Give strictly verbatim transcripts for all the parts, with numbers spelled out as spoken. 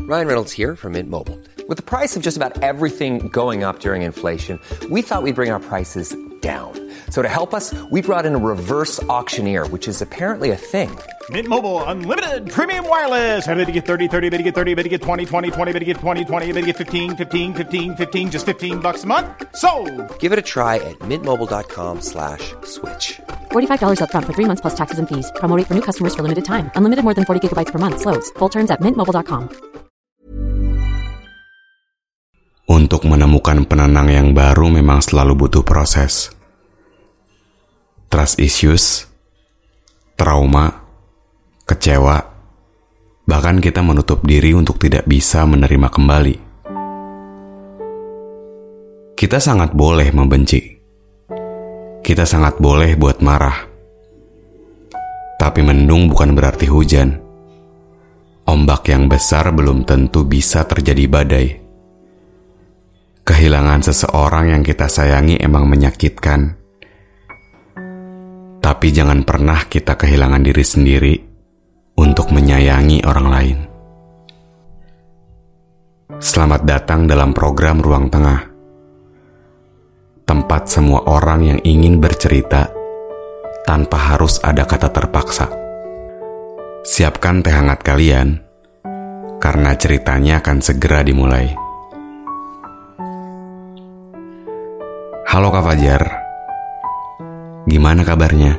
Ryan Reynolds here from Mint Mobile. With the price of just about everything going up during inflation, we thought we'd bring our prices down. So to help us, we brought in a reverse auctioneer, which is apparently a thing. Mint Mobile Unlimited Premium Wireless. How to get thirty, thirty, how to get thirty, how to get twenty, twenty, twenty, how to get twenty, twenty, how to get fifteen, fifteen, fifteen, fifteen, just fifteen bucks a month? Sold! Give it a try at mintmobile.com slash switch. forty-five dollars up front for three months plus taxes and fees. Promo rate for new customers for limited time. Unlimited more than forty gigabytes per month. Slows full terms at mint mobile dot com. Untuk menemukan penenang yang baru memang selalu butuh proses. Trust issues, trauma, kecewa, bahkan kita menutup diri untuk tidak bisa menerima kembali. Kita sangat boleh membenci. Kita sangat boleh buat marah. Tapi mendung bukan berarti hujan. Ombak yang besar belum tentu bisa terjadi badai. Kehilangan seseorang yang kita sayangi emang menyakitkan. Tapi jangan pernah kita kehilangan diri sendiri untuk menyayangi orang lain. Selamat datang dalam program Ruang Tengah. Tempat semua orang yang ingin bercerita tanpa harus ada kata terpaksa. Siapkan teh hangat kalian, karena ceritanya akan segera dimulai. Halo Kak Fajar, gimana kabarnya?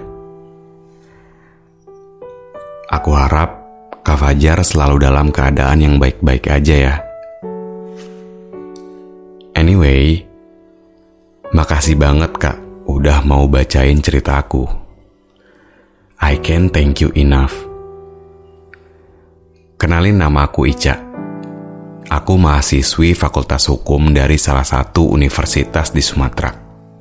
Aku harap Kak Fajar selalu dalam keadaan yang baik-baik aja ya. Anyway, makasih banget Kak udah mau bacain cerita aku. I can't thank you enough. Kenalin, nama aku Ica. Aku mahasiswi Fakultas Hukum dari salah satu universitas di Sumatera.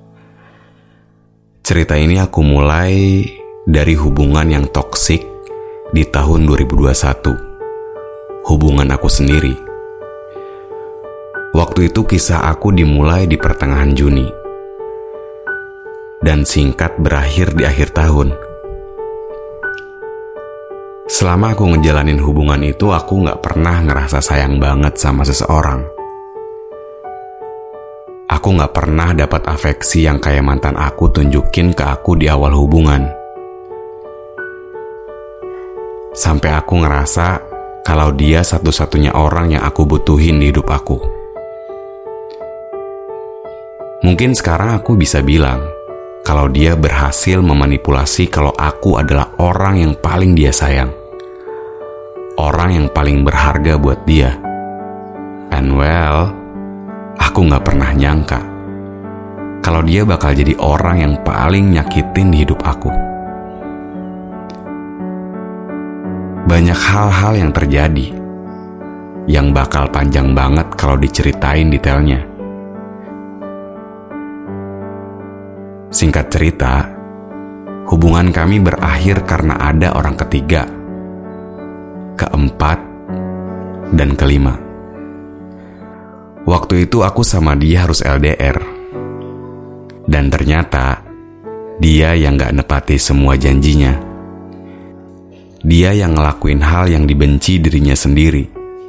Cerita ini aku mulai dari hubungan yang toksik di tahun dua ribu dua puluh satu. Hubungan aku sendiri. Waktu itu kisah aku dimulai di pertengahan Juni. Dan singkat berakhir di akhir tahun. Selama aku ngejalanin hubungan itu, aku gak pernah ngerasa sayang banget sama seseorang. Aku gak pernah dapat afeksi yang kayak mantan aku tunjukin ke aku di awal hubungan. Sampai aku ngerasa kalau dia satu-satunya orang yang aku butuhin di hidup aku. Mungkin sekarang aku bisa bilang kalau dia berhasil memanipulasi kalau aku adalah orang yang paling dia sayang. Orang yang paling berharga buat dia. And well, aku gak pernah nyangka kalau dia bakal jadi orang yang paling nyakitin di hidup aku. Banyak hal-hal yang terjadi yang bakal panjang banget kalau diceritain detailnya. Singkat cerita, hubungan kami berakhir karena ada orang ketiga, keempat, dan kelima. Waktu itu aku sama dia harus L D R. Dan ternyata, dia yang gak nepati semua janjinya. Dia yang ngelakuin hal yang dibenci dirinya sendiri.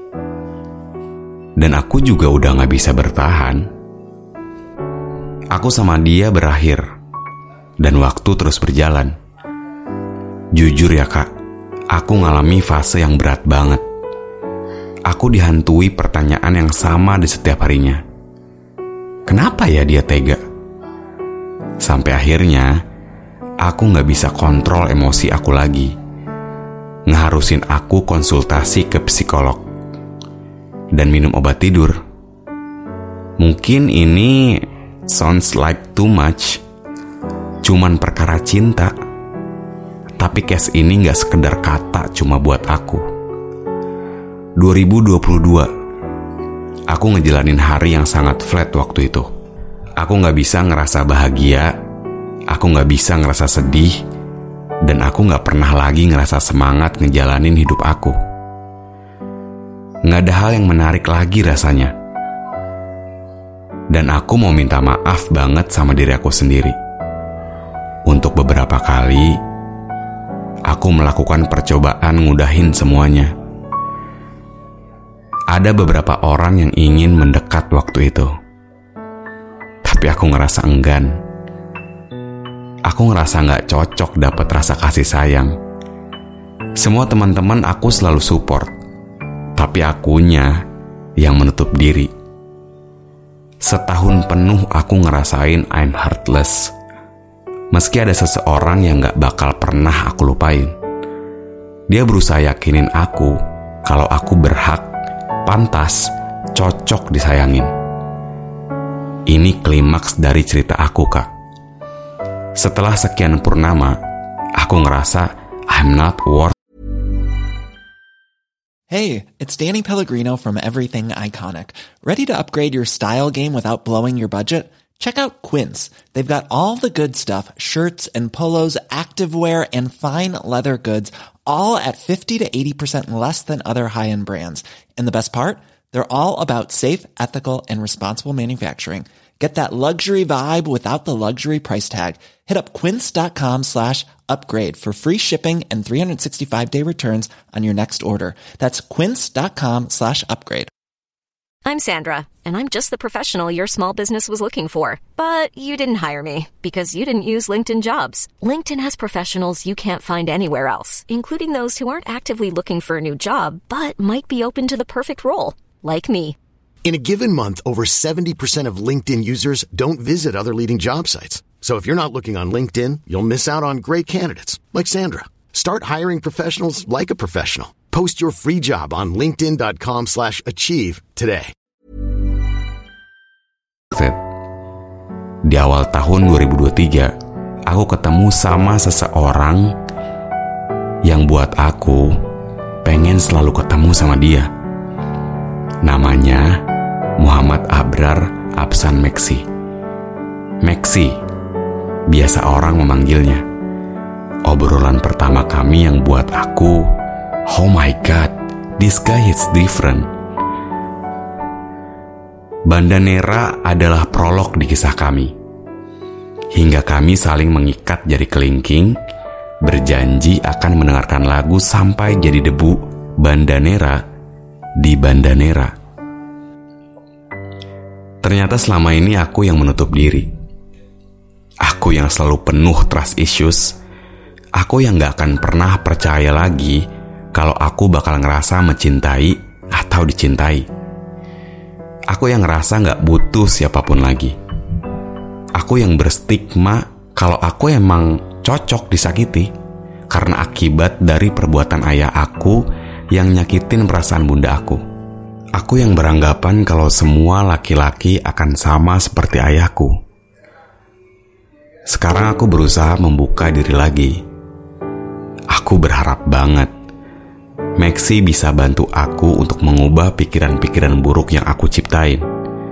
Dan aku juga udah gak bisa bertahan. Aku sama dia berakhir, dan waktu terus berjalan. Jujur ya Kak, aku ngalami fase yang berat banget. Aku dihantui pertanyaan yang sama di setiap harinya. Kenapa ya dia tega? Sampai akhirnya, aku gak bisa kontrol emosi aku lagi. Ngeharusin aku konsultasi ke psikolog dan minum obat tidur. Mungkin ini sounds like too much, cuman perkara cinta. Tapi case ini gak sekedar kata cuma buat aku. dua ribu dua puluh dua, aku ngejalanin hari yang sangat flat waktu itu. Aku gak bisa ngerasa bahagia, aku gak bisa ngerasa sedih, dan aku gak pernah lagi ngerasa semangat ngejalanin hidup aku. Gak ada hal yang menarik lagi rasanya. Dan aku mau minta maaf banget sama diri aku sendiri. Untuk beberapa kali, aku melakukan percobaan ngudahin semuanya. Ada beberapa orang yang ingin mendekat waktu itu, tapi aku ngerasa enggan. Aku ngerasa gak cocok dapat rasa kasih sayang. Semua teman-teman aku selalu support, tapi akunya yang menutup diri. Setahun penuh aku ngerasain I'm heartless. Meski ada seseorang yang gak bakal pernah aku lupain. Dia berusaha yakinin aku kalau aku berhak, pantas, cocok disayangin. Ini klimaks dari cerita aku, Kak. Setelah sekian purnama, aku ngerasa I'm not worth. Hey, it's Danny Pellegrino from Everything Iconic. Ready to upgrade your style game without blowing your budget? Check out Quince. They've got all the good stuff, shirts and polos, activewear, and fine leather goods, all at fifty to eighty percent less than other high-end brands. And the best part? They're all about safe, ethical, and responsible manufacturing. Get that luxury vibe without the luxury price tag. Hit up quince.com slash upgrade for free shipping and three sixty-five day returns on your next order. That's quince.com slash upgrade. I'm Sandra, and I'm just the professional your small business was looking for. But you didn't hire me because you didn't use LinkedIn Jobs. LinkedIn has professionals you can't find anywhere else, including those who aren't actively looking for a new job, but might be open to the perfect role, like me. In a given month, over seventy percent of LinkedIn users don't visit other leading job sites. So if you're not looking on LinkedIn, you'll miss out on great candidates like Sandra. Start hiring professionals like a professional. Post your free job on linkedin.com slash achieve today. Di awal tahun dua ribu dua puluh tiga, aku ketemu sama seseorang yang buat aku pengen selalu ketemu sama dia. Namanya Muhammad Abrar Absan Meksi. Meksi, biasa orang memanggilnya. Obrolan pertama kami yang buat aku, oh my god, this guy is different. Banda Nera adalah prolog di kisah kami. Hingga kami saling mengikat jari kelingking, berjanji akan mendengarkan lagu sampai jadi debu Banda Nera di Banda Nera. Ternyata selama ini aku yang menutup diri. Aku yang selalu penuh trust issues. Aku yang gak akan pernah percaya lagi kalau aku bakal ngerasa mencintai atau dicintai. Aku yang ngerasa gak butuh siapapun lagi. Aku yang berstigma kalau aku emang cocok disakiti karena akibat dari perbuatan ayah aku yang nyakitin perasaan bunda aku. Aku yang beranggapan kalau semua laki-laki akan sama seperti ayahku. Sekarang aku berusaha membuka diri lagi. Aku berharap banget Meksi bisa bantu aku untuk mengubah pikiran-pikiran buruk yang aku ciptain.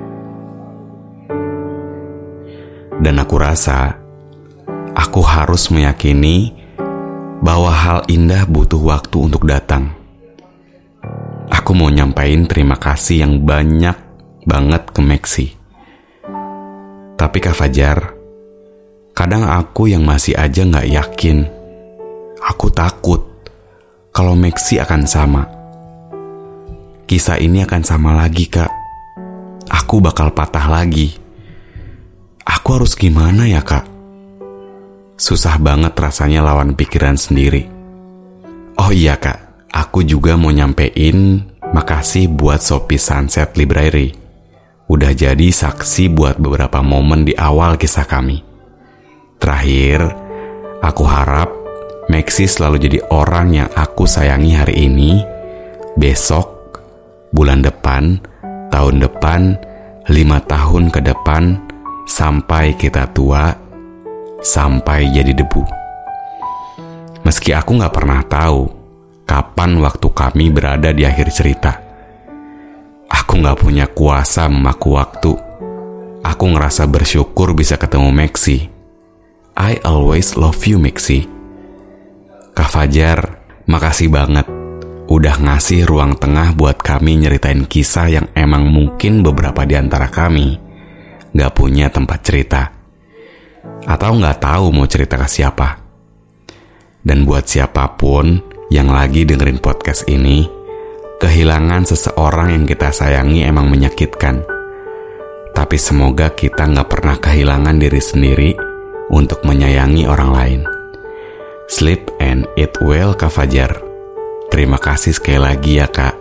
Dan aku rasa aku harus meyakini bahwa hal indah butuh waktu untuk datang. Aku mau nyampain terima kasih yang banyak banget ke Meksi. Tapi Kak Fajar, kadang aku yang masih aja gak yakin. Aku takut kalau Meksi akan sama. Kisah ini akan sama lagi, Kak. Aku bakal patah lagi. Aku harus gimana ya, Kak? Susah banget rasanya lawan pikiran sendiri. Oh iya, Kak. Aku juga mau nyampein makasih buat Shopee Sunset Library. Udah jadi saksi buat beberapa momen di awal kisah kami. Terakhir, aku harap Meksi selalu jadi orang yang aku sayangi hari ini, besok, bulan depan, tahun depan, lima tahun ke depan, sampai kita tua, sampai jadi debu. Meski aku gak pernah tahu kapan waktu kami berada di akhir cerita. Aku gak punya kuasa memaku waktu. Aku ngerasa bersyukur bisa ketemu Meksi. I always love you, Meksi. Kak Fajar, makasih banget udah ngasih ruang tengah buat kami nyeritain kisah yang emang mungkin beberapa di antara kami gak punya tempat cerita atau gak tahu mau cerita ke siapa. Dan buat siapapun yang lagi dengerin podcast ini, kehilangan seseorang yang kita sayangi emang menyakitkan. Tapi semoga kita gak pernah kehilangan diri sendiri untuk menyayangi orang lain. Sleep and eat well, Kak Fajar. Terima kasih sekali lagi ya, Kak.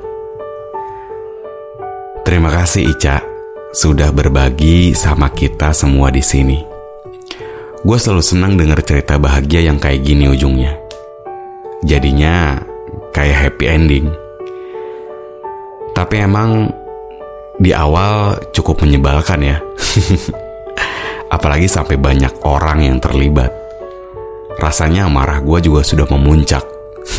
Terima kasih Ica sudah berbagi sama kita semua di sini. Gue selalu senang denger cerita bahagia yang kayak gini ujungnya. Jadinya kayak happy ending. Tapi emang di awal cukup menyebalkan ya. Apalagi sampai banyak orang yang terlibat. Rasanya amarah gue juga sudah memuncak.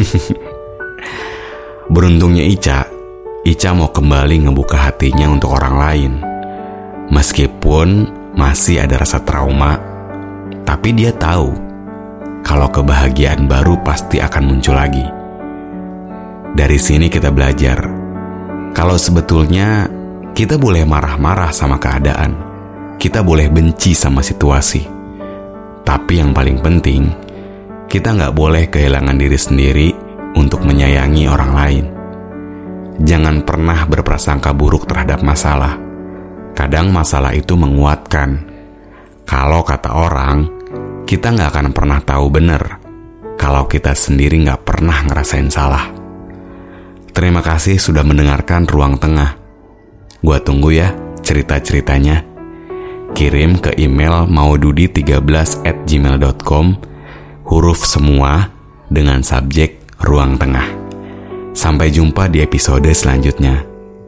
Beruntungnya Ica, Ica mau kembali ngebuka hatinya untuk orang lain. Meskipun masih ada rasa trauma, tapi dia tahu kalau kebahagiaan baru pasti akan muncul lagi. Dari sini kita belajar kalau sebetulnya kita boleh marah-marah sama keadaan, kita boleh benci sama situasi, tapi yang paling penting kita nggak boleh kehilangan diri sendiri untuk menyayangi orang lain. Jangan pernah berprasangka buruk terhadap masalah. Kadang masalah itu menguatkan. Kalau kata orang, kita nggak akan pernah tahu benar kalau kita sendiri nggak pernah ngerasain salah. Terima kasih sudah mendengarkan Ruang Tengah. Gua tunggu ya cerita-ceritanya. Kirim ke email maududi tiga belas at gmail dot com, huruf semua dengan subjek Ruang Tengah. Sampai jumpa di episode selanjutnya.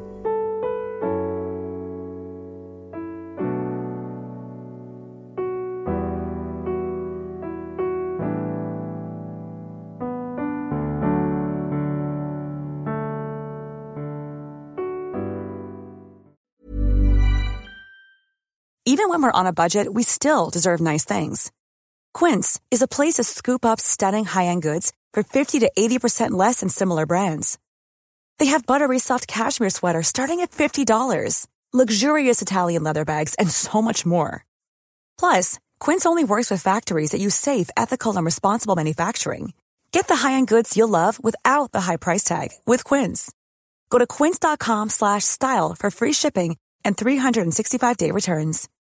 Even when we're on a budget, we still deserve nice things. Quince is a place to scoop up stunning high-end goods for fifty to eighty percent less than similar brands. They have buttery soft cashmere sweaters starting at fifty dollars, luxurious Italian leather bags, and so much more. Plus, Quince only works with factories that use safe, ethical, and responsible manufacturing. Get the high-end goods you'll love without the high price tag with Quince. Go to quince dot com slash style for free shipping and three sixty-five day returns.